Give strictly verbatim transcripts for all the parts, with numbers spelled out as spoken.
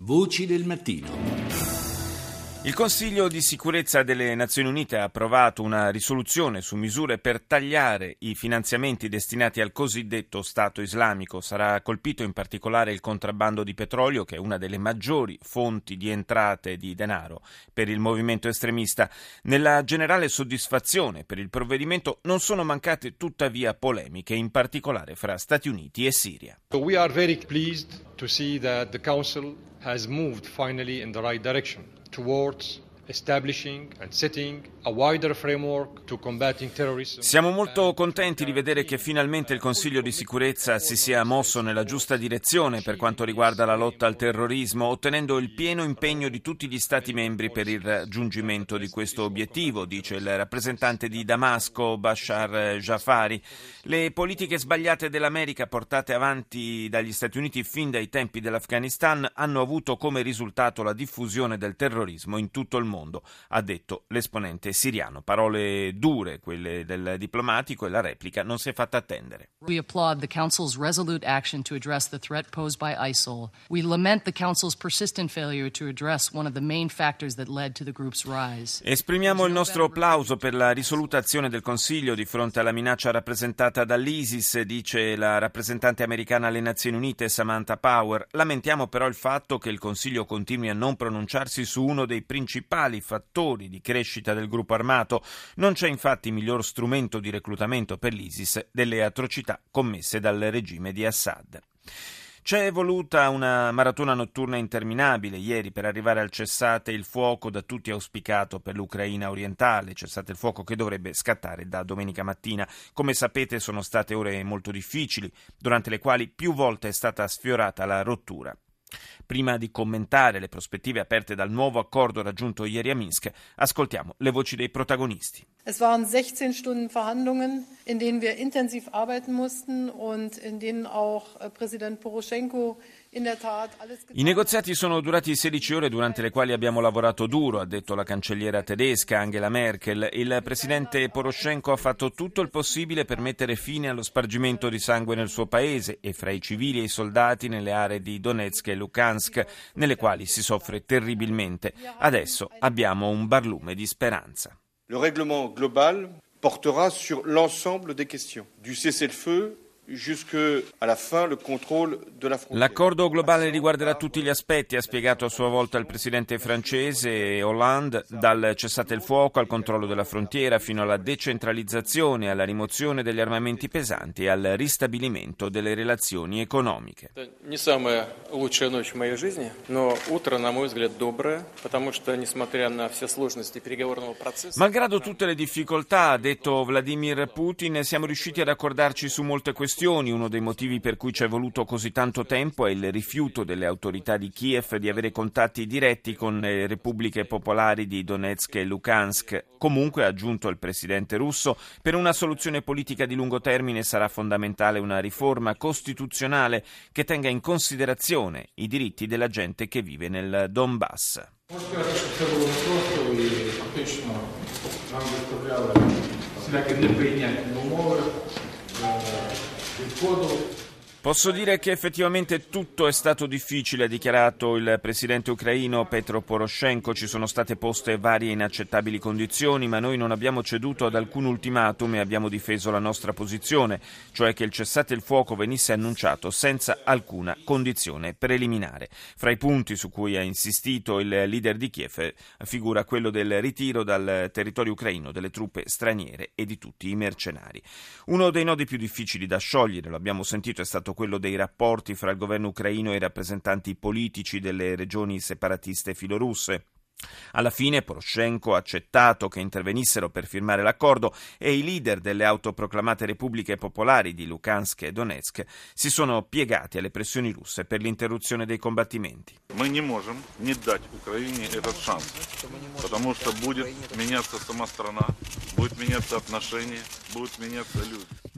Voci del mattino. Il Consiglio di sicurezza delle Nazioni Unite ha approvato una risoluzione su misure per tagliare i finanziamenti destinati al cosiddetto Stato islamico. Sarà colpito in particolare il contrabbando di petrolio, che è una delle maggiori fonti di entrate di denaro per il movimento estremista. Nella generale soddisfazione per il provvedimento non sono mancate tuttavia polemiche, in particolare fra Stati Uniti e Siria. So we are very pleased to see that the Council has moved finally in the right direction towards establishing and setting a wider framework to combating terrorism. Siamo molto contenti di vedere che finalmente il Consiglio di sicurezza si sia mosso nella giusta direzione per quanto riguarda la lotta al terrorismo, ottenendo il pieno impegno di tutti gli Stati membri per il raggiungimento di questo obiettivo, dice il rappresentante di Damasco, Bashar Jafari. Le politiche sbagliate dell'America portate avanti dagli Stati Uniti fin dai tempi dell'Afghanistan hanno avuto come risultato la diffusione del terrorismo in tutto il mondo, ha detto l'esponente siriano. Parole dure, quelle del diplomatico, e la replica non si è fatta attendere. We applaud the Council's resolute action to address the threat posed by ISIL. We lament the Council's persistent failure to address one of the main factors that led to the group's rise. Esprimiamo il nostro applauso per la risoluta azione del Consiglio di fronte alla minaccia rappresentata dall'ISIS, dice la rappresentante americana alle Nazioni Unite Samantha Power. Lamentiamo però il fatto che il Consiglio continui a non pronunciarsi su uno dei principali fattori di crescita del gruppo armato. Non c'è infatti miglior strumento di reclutamento per l'ISIS delle atrocità commesse dal regime di Assad. C'è voluta una maratona notturna interminabile ieri per arrivare al cessate il fuoco da tutti auspicato per l'Ucraina orientale, cessate il fuoco che dovrebbe scattare da domenica mattina. Come sapete sono state ore molto difficili, durante le quali più volte è stata sfiorata la rottura. Prima di commentare le prospettive aperte dal nuovo accordo raggiunto ieri a Minsk, ascoltiamo le voci dei protagonisti. Es waren sechzehn Stunden Verhandlungen, in denen wir intensiv arbeiten mussten und in denen auch Präsident Poroschenko in der Tat alles getan. I negoziati sono durati sedici ore durante le quali abbiamo lavorato duro, ha detto la cancelliera tedesca Angela Merkel. Il presidente Poroshenko ha fatto tutto il possibile per mettere fine allo spargimento di sangue nel suo paese e fra i civili e i soldati nelle aree di Donetsk e Luhansk, nelle quali si soffre terribilmente. Adesso abbiamo un barlume di speranza. Le règlement global portera sur l'ensemble des questions, du cessez-le-feu jusqu'à la fin le contrôle de la frontière. L'accordo globale riguarderà tutti gli aspetti, ha spiegato a sua volta il presidente francese Hollande, dal cessate il fuoco al controllo della frontiera fino alla decentralizzazione, alla rimozione degli armamenti pesanti e al ristabilimento delle relazioni economiche. Не самая лучшая ночь в моей жизни, но утро, на мой взгляд, доброе, потому что, несмотря на все сложности переговорного процесса. Malgrado tutte le difficoltà, ha detto Vladimir Putin, siamo riusciti ad accordarci su molte questioni. Uno dei motivi per cui ci è voluto così tanto tempo è il rifiuto delle autorità di Kiev di avere contatti diretti con le repubbliche popolari di Donetsk e Luhansk. Comunque, ha aggiunto il presidente russo, per una soluzione politica di lungo termine sarà fondamentale una riforma costituzionale che tenga in considerazione i diritti della gente che vive nel Donbass. Posso dire che effettivamente tutto è stato difficile, ha dichiarato il presidente ucraino Petro Poroshenko. Ci sono state poste varie inaccettabili condizioni, ma noi non abbiamo ceduto ad alcun ultimatum e abbiamo difeso la nostra posizione, cioè che il cessate il fuoco venisse annunciato senza alcuna condizione preliminare. Fra i punti su cui ha insistito il leader di Kiev figura quello del ritiro dal territorio ucraino delle truppe straniere e di tutti i mercenari. Uno dei nodi più difficili da sciogliere, lo abbiamo sentito, è stato quello dei rapporti fra il governo ucraino e i rappresentanti politici delle regioni separatiste filorusse. Alla fine Poroshenko ha accettato che intervenissero per firmare l'accordo e i leader delle autoproclamate repubbliche popolari di Luhansk e Donetsk si sono piegati alle pressioni russe per l'interruzione dei combattimenti. Мы не можем не дать Украине этот шанс, потому что будет меняться сама страна, будут меняться отношения, будут меняться люди.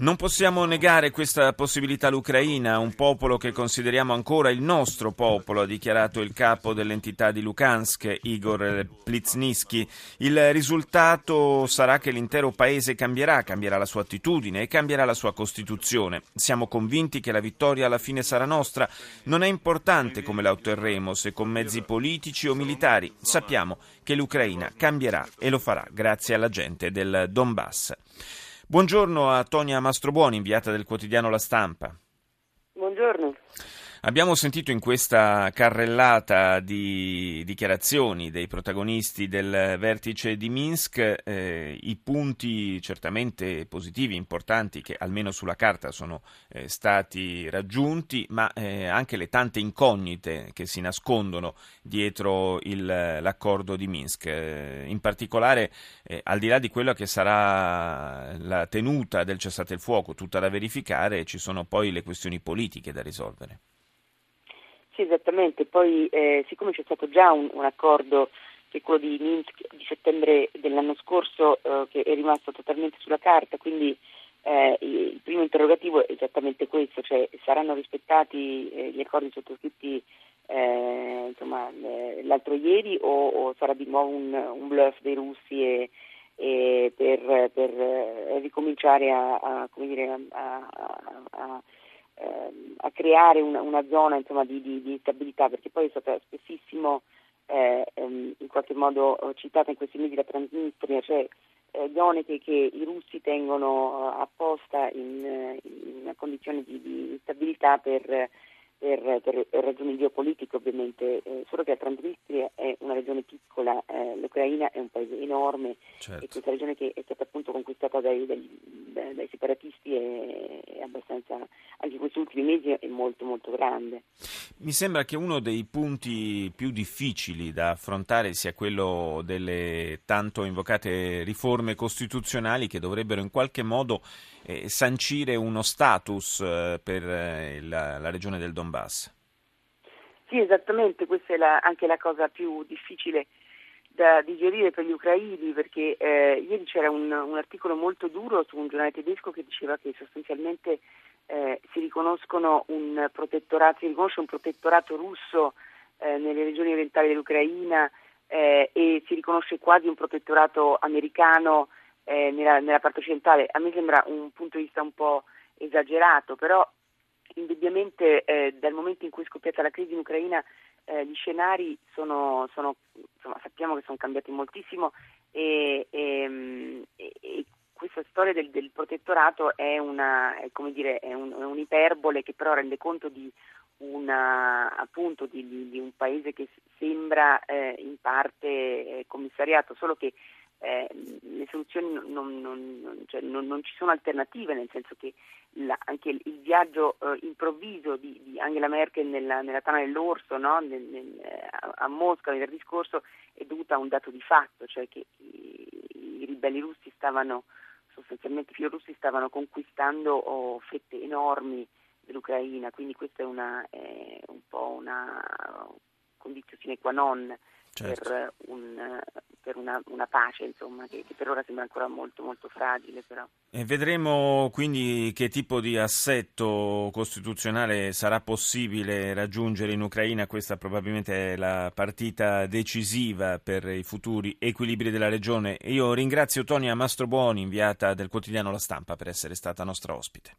Non possiamo negare questa possibilità all'Ucraina, un popolo che consideriamo ancora il nostro popolo, ha dichiarato il capo dell'entità di Luhansk, Igor Plizhnysky. Il risultato sarà che l'intero paese cambierà, cambierà la sua attitudine e cambierà la sua Costituzione. Siamo convinti che la vittoria alla fine sarà nostra. Non è importante come la otterremo, se con mezzi politici o militari. Sappiamo che l'Ucraina cambierà e lo farà grazie alla gente del Donbass. Buongiorno a Tonia Mastrobuoni, inviata del quotidiano La Stampa. Buongiorno. Abbiamo sentito in questa carrellata di dichiarazioni dei protagonisti del vertice di Minsk eh, i punti certamente positivi, importanti, che almeno sulla carta sono eh, stati raggiunti, ma eh, anche le tante incognite che si nascondono dietro il, l'accordo di Minsk. Eh, in particolare, eh, al di là di quella che sarà la tenuta del cessate il fuoco, tutta da verificare, ci sono poi le questioni politiche da risolvere. Sì, esattamente. Poi, eh, siccome c'è stato già un, un accordo, che è quello di Minsk di settembre dell'anno scorso, eh, che è rimasto totalmente sulla carta, quindi eh, il primo interrogativo è esattamente questo, cioè saranno rispettati eh, gli accordi sottoscritti eh, insomma, eh, l'altro ieri o, o sarà di nuovo un, un bluff dei russi e, e per, per eh, ricominciare a, a, come dire, a, a, a a creare una, una zona insomma di, di, di stabilità, perché poi è stata spessissimo eh, ehm, in qualche modo citata in questi mesi la Transnistria, cioè eh, zone che, che i russi tengono apposta in, in una condizione di, di stabilità per, per, per ragioni geopolitiche ovviamente, eh, solo che la Transnistria è una regione piccola, eh, l'Ucraina è un paese enorme, certo. E questa regione che è stata appunto conquistata dai, dai, dai, dai separatisti è, è abbastanza, anche in questi ultimi mesi è molto molto grande. Mi sembra che uno dei punti più difficili da affrontare sia quello delle tanto invocate riforme costituzionali che dovrebbero in qualche modo eh, sancire uno status eh, per eh, la, la regione del Donbass. Sì, esattamente, questa è la, anche la cosa più difficile da digerire per gli ucraini, perché eh, ieri c'era un, un articolo molto duro su un giornale tedesco che diceva che sostanzialmente eh, si riconoscono un protettorato, si riconosce un protettorato russo eh, nelle regioni orientali dell'Ucraina eh, e si riconosce quasi un protettorato americano eh, nella, nella parte occidentale. A me sembra un punto di vista un po' esagerato, però indubbiamente eh, dal momento in cui è scoppiata la crisi in Ucraina eh, gli scenari sono, sono insomma, sappiamo che sono cambiati moltissimo e, e, e questa storia del, del protettorato è una è, come dire, è, un, è un'iperbole che però rende conto di una appunto di, di, di un paese che sembra eh, in parte eh, commissariato, solo che Eh, le soluzioni non, non, non, cioè non, non ci sono alternative, nel senso che la, anche il, il viaggio eh, improvviso di, di Angela Merkel nella, nella tana dell'orso, no? nel, nel, a, a Mosca venerdì scorso è dovuta a un dato di fatto, cioè che i, i ribelli russi stavano sostanzialmente i filorussi stavano conquistando oh, fette enormi dell'Ucraina, quindi questa è una è un po' una condizione sine qua non. Certo. per, un, per una, una pace insomma che, che per ora sembra ancora molto molto fragile però. E vedremo quindi che tipo di assetto costituzionale sarà possibile raggiungere in Ucraina. Questa probabilmente è la partita decisiva per i futuri equilibri della regione. Io ringrazio Tonia Mastrobuoni, inviata del quotidiano La Stampa, per essere stata nostra ospite.